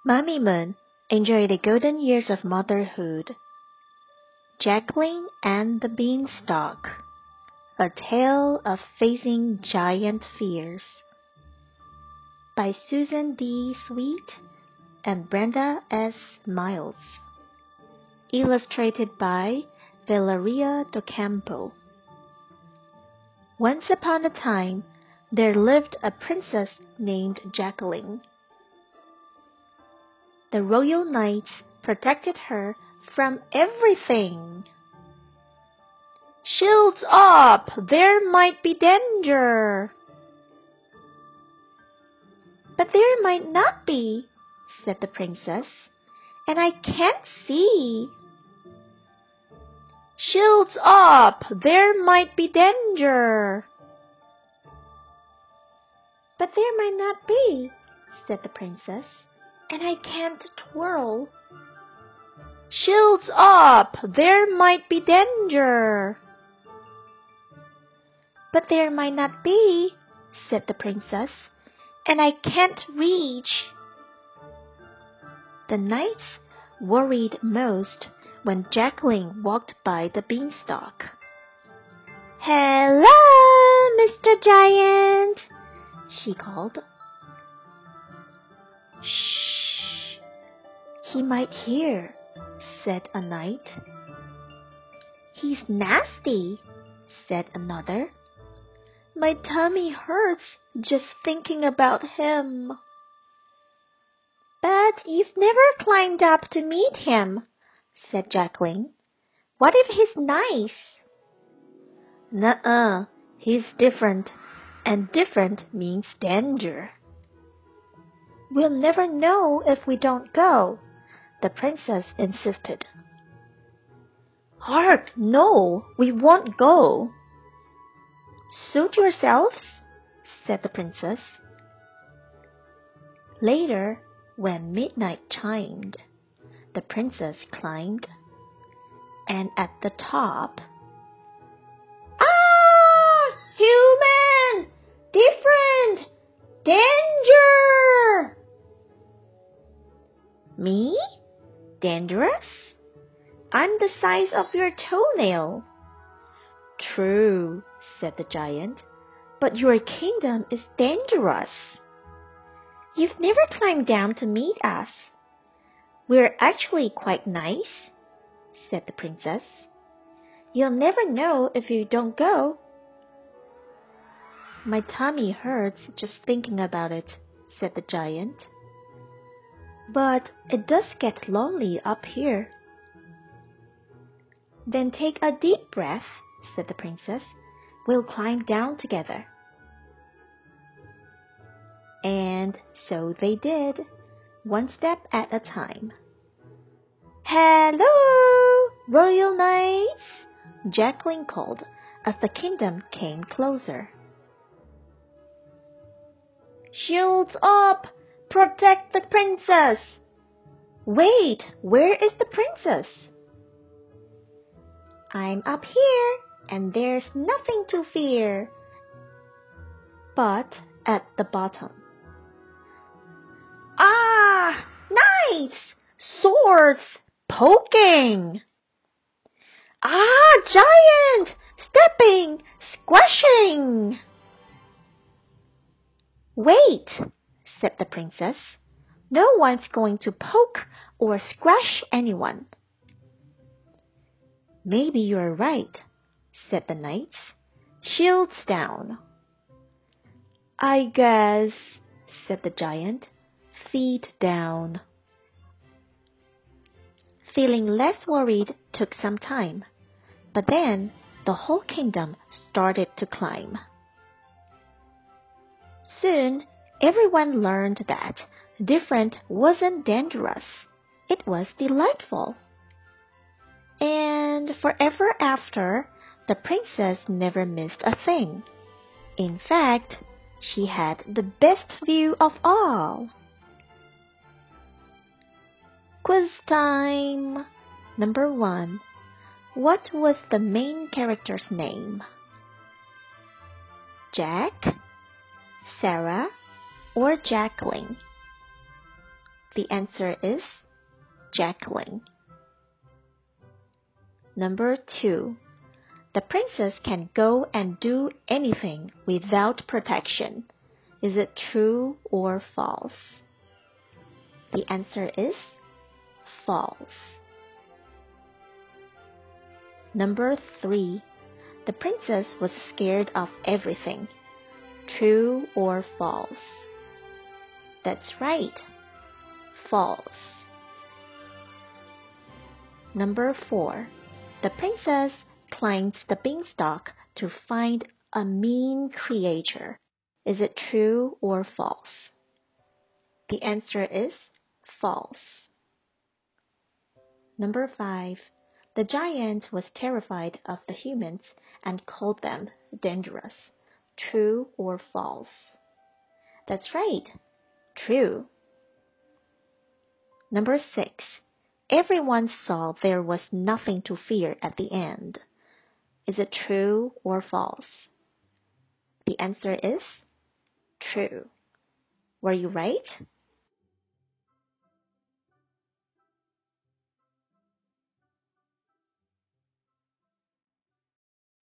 Mammy Moon enjoyed the golden years of motherhood. Jacqueline and the Beanstalk, A Tale of Facing Giant Fears, by Susan D. Sweet and Brenda S. Miles. Illustrated by Valeria Docampo. Once upon a time, there lived a princess named Jacqueline. The royal knights protected her from everything. "Shields up! There might be danger!" "But there might not be," said the princess, "and I can't see." "Shields up! There might be danger!" "But there might not be," said the princess, "and I can't twirl." "Shields up! There might be danger!" "But there might not be," said the princess, "and I can't reach." The knights worried most when Jacqueline walked by the beanstalk. "Hello, Mr. Giant," she called. "Shh! He might hear," said a knight. "He's nasty," said another. "My tummy hurts just thinking about him." "But you've never climbed up to meet him," said Jacqueline. "What if he's nice?" "Nuh-uh, he's different, and different means danger." "We'll never know if we don't go," the princess insisted. "Hark, no, we won't go." "Suit yourselves," said the princess. Later, when midnight chimed, the princess climbed, and at the top, "Ah! Human! Different! Danger!" "Me? Dangerous? I'm the size of your toenail." "True," said the giant, "but your kingdom is dangerous." "You've never climbed down to meet us." "We're actually quite nice," said the princess. "You'll never know if you don't go." "My tummy hurts just thinking about it," said the giant. "But it does get lonely up here." "Then take a deep breath," said the princess. "We'll climb down together." And so they did, one step at a time. "Hello, royal knights!" Jacqueline called as the kingdom came closer. "Shields up! Protect the princess!" "Wait, where is the princess?" "I'm up here, and there's nothing to fear." But at the bottom. "Ah! Knights! Swords! Poking!" "Ah! Giant! Stepping! Squashing!" "Wait," said the princess. "No one's going to poke or squash anyone." "Maybe you're right," said the knights. "Shields down." "I guess," said the giant. "Feet down." Feeling less worried took some time, but then the whole kingdom started to climb. Soon everyone learned that different wasn't dangerous. It was delightful. And forever after, the princess never missed a thing. In fact, she had the best view of all. Quiz time! Number 1. What was the main character's name? Jack, Sarah, or Jacqueline? The answer is Jacqueline. Number 2. The princess can go and do anything without protection. Is it true or false? The answer is false. Number 3. The princess was scared of everything. True or false? That's right. False. Number 4. The princess climbed the beanstalk to find a mean creature. Is it true or false? The answer is false. Number 5. The giant was terrified of the humans and called them dangerous. True or false? That's right. True. Number 6. Everyone saw there was nothing to fear at the end. Is it true or false? The answer is true. Were you right?